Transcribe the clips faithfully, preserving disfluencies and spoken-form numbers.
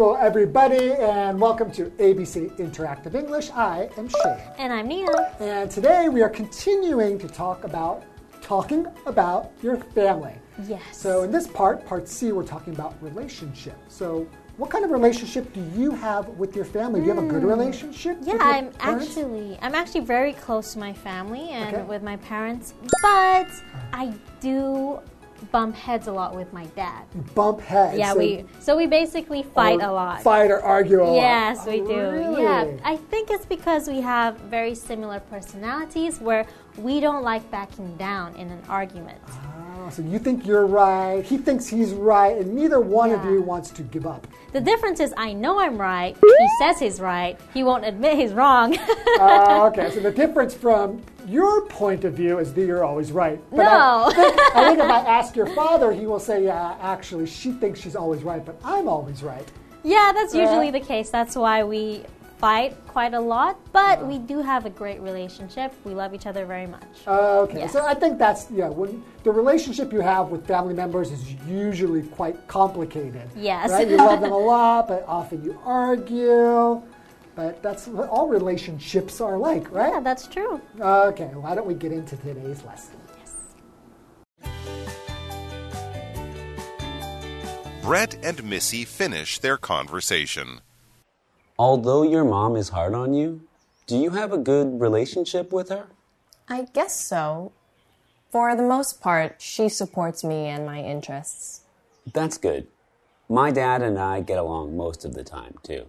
Hello, everybody, and welcome to A B C Interactive English. I am Shane. And I'm Nina. And today we are continuing to talk about talking about your family. Yes. So in this part, part C, we're talking about relationship. So what kind of relationship do you have with your family? Do you have a good relationship Yeah, with your I'm parents? actually I'm actually very close to my family and Okay. with my parents, but I do bump heads a lot with my dad. Bump heads. Yeah, so we so we basically fight or a lot. Fight or argue a lot. Yes, we Oh, do. really? Yeah, I think it's because we have very similar personalities where we don't like backing down in an argument. Oh, so you think you're right, he thinks he's right, and neither one of Yeah. you wants to give up. The difference is I know I'm right, he says he's right, he won't admit he's wrong. uh, okay, so the difference from your point of view is that you're always right. But No. I think, I think if I ask your father, he will say, yeah, actually, she thinks she's always right, but I'm always right. Yeah, that's usually Uh, the case. That's why we fight quite a lot, but we do have a great relationship. We love each other very much. Uh, okay, Yes. so I think that's, yeah, when the relationship you have with family members is usually quite complicated. Yes. Right? You love them a lot, but often you argue. But that's what all relationships are like, right? Yeah, that's true. Okay, why don't we get into today's lesson? Brett and Missy finish their conversation. Although your mom is hard on you, do you have a good relationship with her? I guess so. For the most part, she supports me and my interests. That's good. My dad and I get along most of the time, too.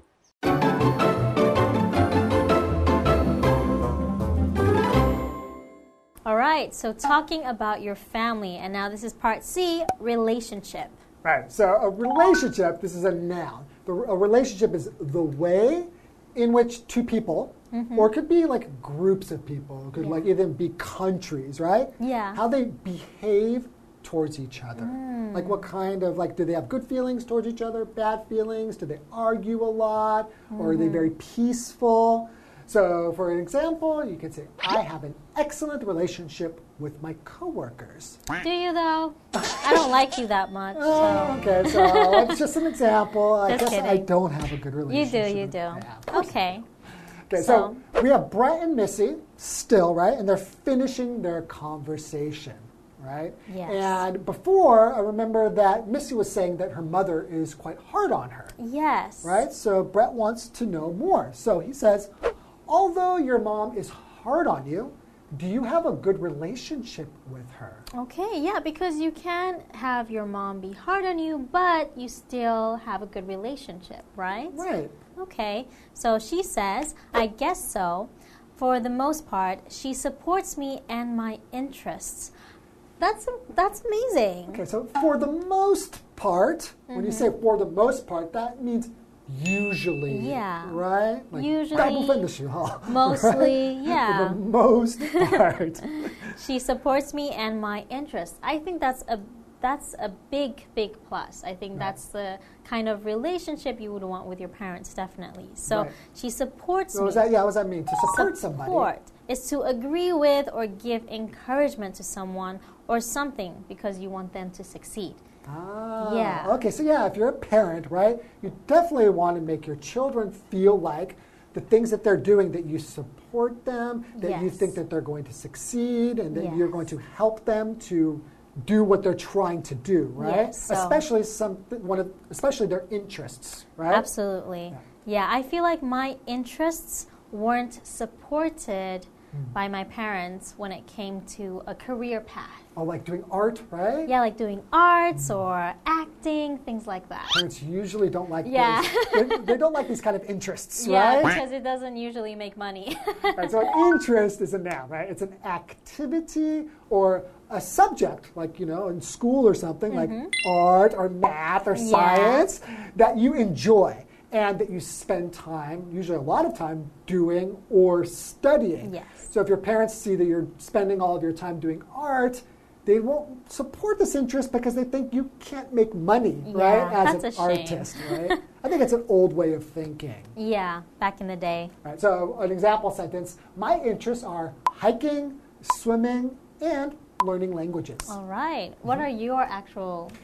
All right, so talking about your family, and now this is part C, relationship. Right, so a relationship, this is a noun. The, a relationship is the way in which two people, Mm-hmm. or it could be like groups of people, it could Yeah. like even be countries, right? Yeah. How they behave towards each other. Mm. Like what kind of, like, do they have good feelings towards each other, bad feelings? Do they argue a lot? Or are they Mm-hmm. very peaceful? So, for an example, you could say, I have an excellent relationship with my coworkers. Do you, though? I don't like you that much. Oh, So. okay, so it's just an example. I Just guess I kidding. don't have a good You relationship. do, you with- do. Yeah, of course. Okay. Okay, so, we have Brett and Missy still, right? And they're finishing their conversation, right? Yes. And before, I remember that Missy was saying that her mother is quite hard on her, Yes. right? So Brett wants to know more. So he says, although your mom is hard on you, do you have a good relationship with her? Okay, yeah, because you can have your mom be hard on you, but you still have a good relationship, right? Right. Okay, so she says, I guess so. For the most part, she supports me and my interests. That's that's amazing. Okay, so for the most part, when you say Mm-hmm. for the most part, that means usually, Yeah. right? Like, Usually, 大部分的时候, Mostly, right? yeah. For the most part. She supports me and my interests. I think that's a that's a big, big plus. I think that's the kind of relationship you would want with your parents, definitely. So Right. she supports So me. what does that, yeah, what does that mean? To support somebody. Support is to agree with or give encouragement to someone or something because you want them to succeed. Ah, Yeah. okay, so yeah, if you're a parent, right, you definitely want to make your children feel like the things that they're doing, that you support them, that you Yes. think that they're going to succeed, and that Yes. you're going to help them to do what they're trying to do, right? Yes, so- especially some one of, especially their interests, right? Absolutely. Yeah, I feel like my interests weren't supported by my parents when it came to a career path. Oh, like doing art, right? Yeah, like doing arts or acting, things like that. Parents usually don't like Yeah. those. They, they don't like these kind of interests, Yeah, right? because it doesn't usually make money. Right, so an interest is a noun, right? It's an activity or a subject, like, you know, in school or something, like art or math or Yeah. science, that you enjoy and that you spend time, usually a lot of time, doing or studying. Yes. So if your parents see that you're spending all of your time doing art, they won't support this interest because they think you can't make money, right, Yeah, as that's an a shame. artist, right? I think it's an old way of thinking. Yeah, back in the day. Right, so an example sentence, my interests are hiking, swimming, and learning languages. All right. What are your actual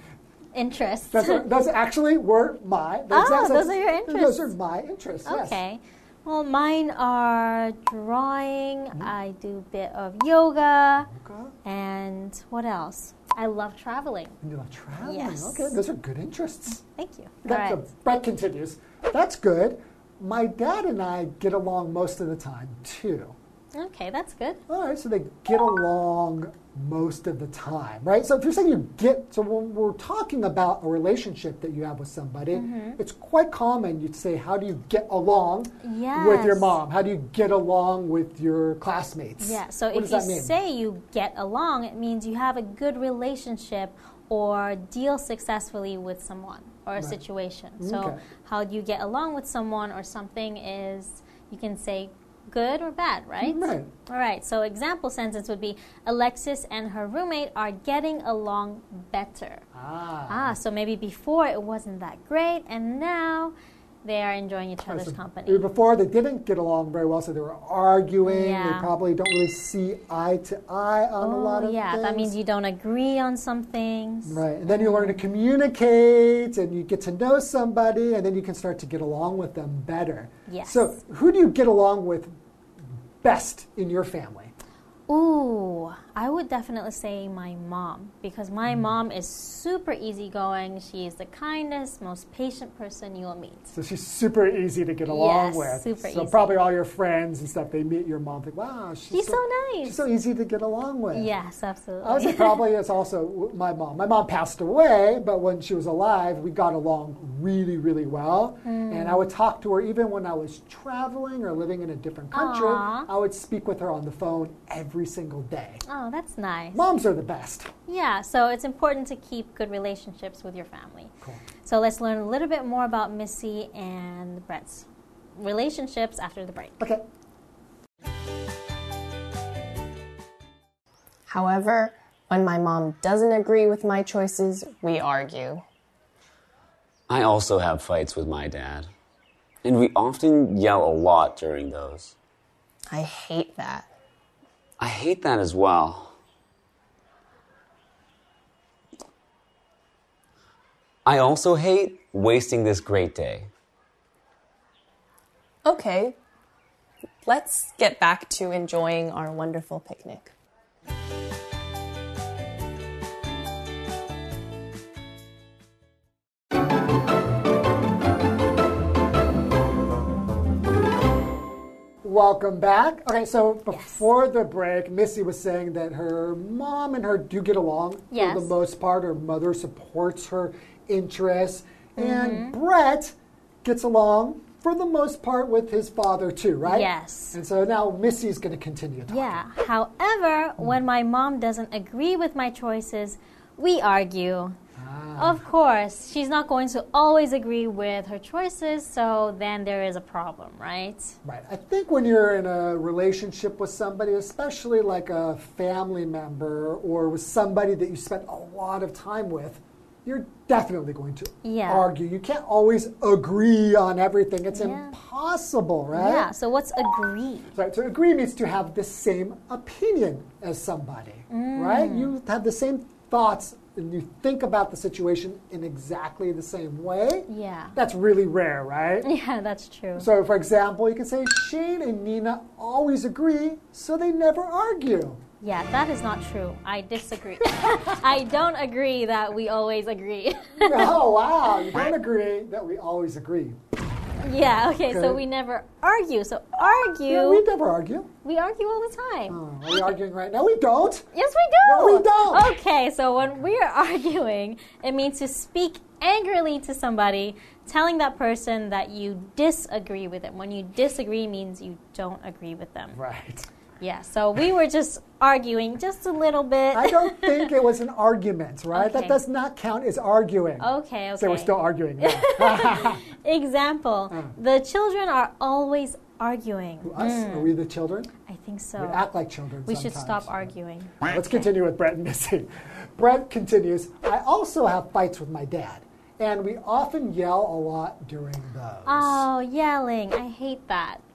interests. That's, a, that's actually were my. Oh, that's, those are your interests. Those are my interests. Yes. Okay. Well, mine are drawing. Mm-hmm. I do a bit of yoga. Yoga. And what else? I love traveling. And you love traveling? Yes. Okay, those are good interests. Thank you. That, All right. The Brett continues. That's good. My dad and I get along most of the time, too. Okay, that's good. All right, so they get along most of the time, right? So if you're saying you get, so when we're talking about a relationship that you have with somebody, mm-hmm. it's quite common you'd say, how do you get along yes. with your mom? How do you get along with your classmates? Yeah, so what if you say you get along, it means you have a good relationship or deal successfully with someone or a right. situation. So okay. how do you get along with someone or something is, you can say good or bad, right? Right. All right, so example sentence would be, Alexis and her roommate are getting along better. Ah. Ah, so maybe before it wasn't that great, and now they are enjoying each other's so company. Before they didn't get along very well, so they were arguing. Yeah. They probably don't really see eye to eye on oh, a lot of yeah, things. that means you don't agree on some things. Right, and then you learn to communicate, and you get to know somebody, and then you can start to get along with them better. Yes. So who do you get along with best in your family? Ooh, I would definitely say my mom, because my mm. mom is super easygoing. She is the kindest, most patient person you'll meet. So she's super easy to get along yes, with. super so easy. probably all your friends and stuff, they meet your mom, think, wow, she's, she's so, so nice. She's so easy to get along with. Yes, absolutely. I would say probably it's also my mom. My mom passed away, but when she was alive, we got along really, really well. Mm. And I would talk to her even when I was traveling or living in a different country. Aww. I would speak with her on the phone every single day. Oh, that's nice. Moms are the best. Yeah, so it's important to keep good relationships with your family. Cool. So let's learn a little bit more about Missy and Brett's relationships after the break. Okay. However, when my mom doesn't agree with my choices, we argue. I also have fights with my dad, and we often yell a lot during those. I hate that. I hate that as well. I also hate wasting this great day. Okay, let's get back to enjoying our wonderful picnic. Welcome back. Okay, so before yes. the break, Missy was saying that her mom and her do get along yes. for the most part. Her mother supports her interests. Mm-hmm. And Brett gets along for the most part with his father too, right? Yes. And so now Missy's going to continue talking. Yeah. However, mm. when my mom doesn't agree with my choices, we argue. Ah. Of course, she's not going to always agree with her choices, so then there is a problem, right? Right. I think when you're in a relationship with somebody, especially like a family member or with somebody that you spent a lot of time with, you're definitely going to yeah. argue. You can't always agree on everything. It's yeah. impossible, right? Yeah, so what's agree? Right, so agree means to have the same opinion as somebody, mm. right? You have the same thoughts and you think about the situation in exactly the same way. Yeah. That's really rare, right? Yeah, that's true. So, for example, you can say Shane and Nina always agree, so they never argue. Yeah, that is not true. I disagree. I don't agree that we always agree. Oh, wow. You don't agree that we always agree. Yeah, okay, okay, so we never argue. So argue. Yeah, we never argue. We argue all the time. Oh, are we arguing right now? We don't. Yes, we do. No, we don't. Okay, so when we are arguing, it means to speak angrily to somebody, telling that person that you disagree with them. When you disagree means you don't agree with them. Right. Yeah, so we were just arguing just a little bit. I don't think it was an argument, right? Okay. That does not count as arguing. Okay, okay. So we're still arguing. Example, uh. the children are always arguing. Who, us? Mm. Are we the children? I think so. We act like children We sometimes. should stop arguing. Let's continue with Brett and Missy. Brett continues, I also have fights with my dad, and we often yell a lot during those. Oh, yelling. I hate that.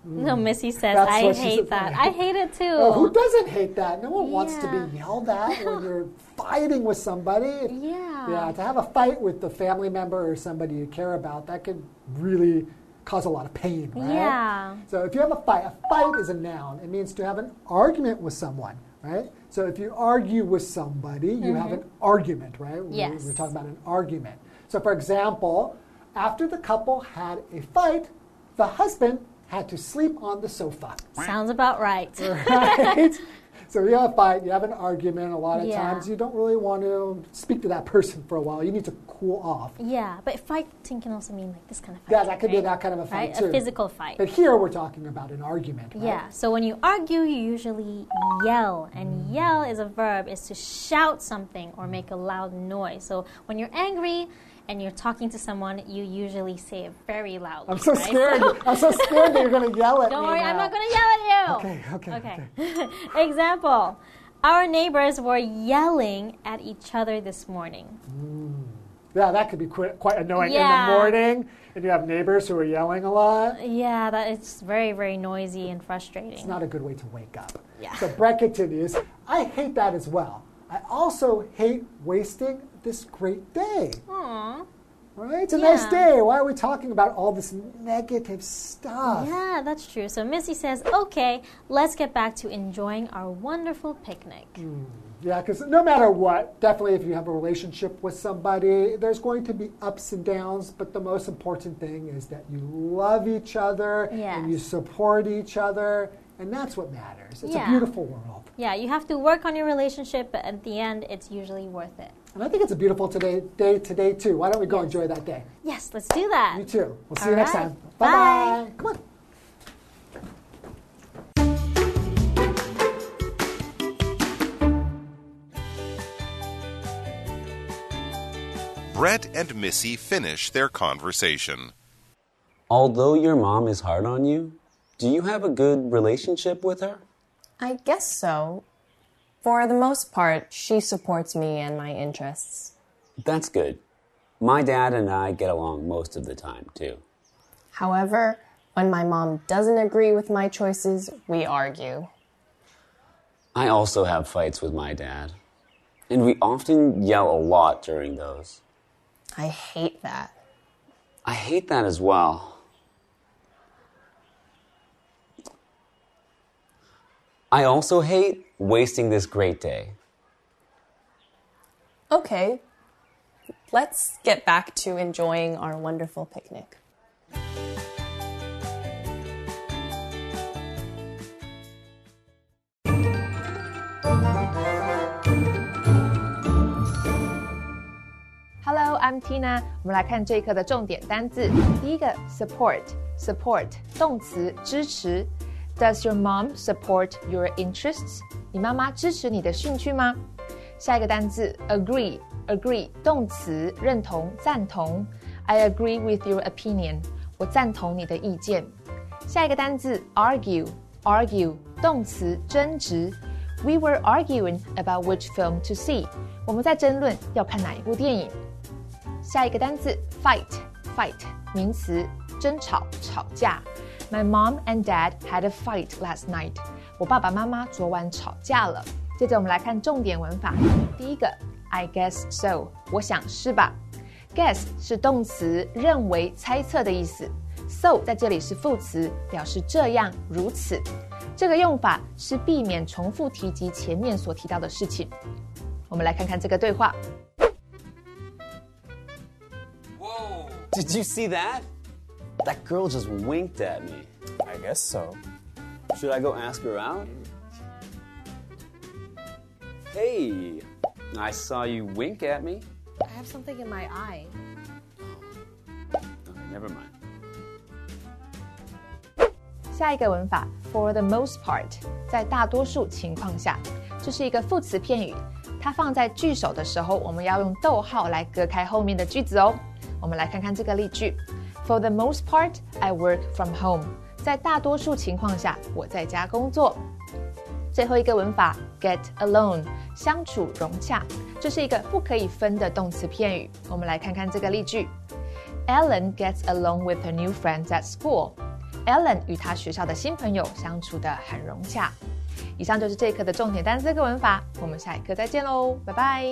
No, Missy says, That's I what she hate said. that. I hate it too. Oh, who doesn't hate that? No one wants to Yeah. be yelled at when you're fighting with somebody. Yeah. Yeah, to have a fight with the family member or somebody you care about, that could really cause a lot of pain, right? Yeah. So if you have a fight, a fight is a noun. It means to have an argument with someone, right? So if you argue with somebody, you mm-hmm. have an argument, right? Yes. We're, we're talking about an argument. So for example, after the couple had a fight, the husband had to sleep on the sofa. Sounds about right. Right? So you have a fight, you have an argument. A lot of Yeah. times you don't really want to speak to that person for a while. You need to cool off. Yeah, but fighting can also mean like this kind of fight. Yeah, that could right? be that kind of a fight right? too. A physical fight. But here we're talking about an argument, right? Yeah, so when you argue, you usually yell. And yell is a verb, is to shout something or make a loud noise. So when you're angry and you're talking to someone, you usually say it very loudly. I'm so right? scared. I'm so scared that you're going to yell at Don't me worry, now. I'm not going to yell at you. Okay, okay, Okay. okay. Example. Our neighbors were yelling at each other this morning. Yeah, that could be quite, quite annoying Yeah. in the morning, and you have neighbors who are yelling a lot. Yeah, that it's very, very noisy and frustrating. It's not a good way to wake up. Yeah. So Brett continues, I hate that as well. I also hate wasting this great day. Aww. Right? It's a Yeah. nice day. Why are we talking about all this negative stuff? Yeah, that's true. So Missy says, okay, let's get back to enjoying our wonderful picnic. Mm. Yeah, because no matter what, definitely if you have a relationship with somebody, there's going to be ups and downs, but the most important thing is that you love each other Yes. and you support each other, and that's what matters. It's Yeah. a beautiful world. Yeah, you have to work on your relationship, but at the end, it's usually worth it. And I think it's a beautiful today, day today, too. Why don't we go Yes. enjoy that day? Yes, let's do that. You too. We'll see All you next right. time. Bye. Bye-bye. Come on. Brett and Missy finish their conversation. Although your mom is hard on you, do you have a good relationship with her? I guess so. For the most part, she supports me and my interests. That's good. My dad and I get along most of the time, too. However, when my mom doesn't agree with my choices, we argue. I also have fights with my dad. And we often yell a lot during those. I hate that. I hate that as well. I also hate wasting this great day. Okay, let's get back to enjoying our wonderful picnic. Hello, I'm Tina. 我们来看这一课的重点单字。第一个 support，support 动詞支持。Does your mom support your interests？ 你媽媽支持你的興趣嗎？下一個單字 agree，agree 動詞認同、贊同。I agree with your opinion。我贊同你的意見。下一個單字 argue，argue 動詞爭執。We were arguing about which film to see。我們在爭論要看哪一部電影。下一個單字 fight，fight 名詞爭吵、吵架。My mom and dad had a fight last night。我爸爸媽媽昨晚吵架了。接着我們來看重點文法。第一個 I guess so， 我想是吧。Guess 是動詞，認為、猜測的意思。So 在這裡是副詞，表示這樣、如此。這個用法是避免重複提及前面所提到的事情。我們來看看這個對話。 Whoa! Did you see that? That girl just winked at me. I guess so. Should I go ask her out? Hey, I saw you wink at me. I have something in my eye. Okay, never mind. 下一個文法 for the most part， 在大多數情況下，這是一個副詞片語，它放在句首的時候，我們要用逗號來隔開後面的句子哦。我們來看看這個例句 ：For the most part, I work from home。在大多數情況下，我在家工作。最後一個文法 get along， 相處融洽，這是一個不可以分的動詞片語。我們來看看這個例句 ：Ellen gets along with her new friends at school。 Ellen 與她學校的新朋友相處得很融洽。以上就是這一課的重點單詞跟文法，我們下一課再見嘍，拜拜。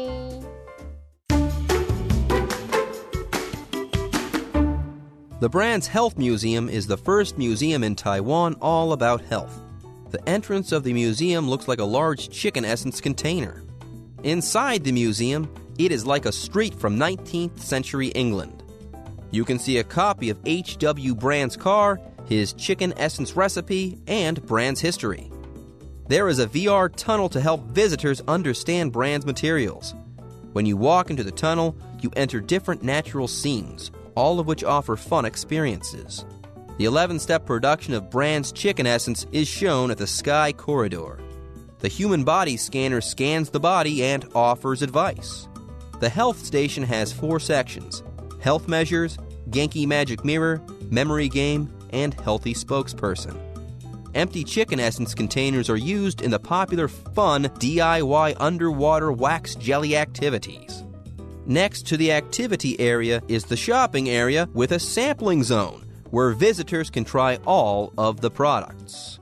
The Brands Health Museum is the first museum in Taiwan all about health. The entrance of the museum looks like a large chicken essence container. Inside the museum, it is like a street from nineteenth century England. You can see a copy of H W Brand's car, his chicken essence recipe, and Brand's history. There is a V R tunnel to help visitors understand Brand's materials. When you walk into the tunnel, you enter different natural scenes, all of which offer fun experiences. The eleven-step production of Brand's chicken essence is shown at the Sky Corridor. The human body scanner scans the body and offers advice. The health station has four sections: health measures, Genki Magic Mirror, memory game, and healthy spokesperson. Empty chicken essence containers are used in the popular fun D I Y underwater wax jelly activities. Next to the activity area is the shopping area with a sampling zone where visitors can try all of the products.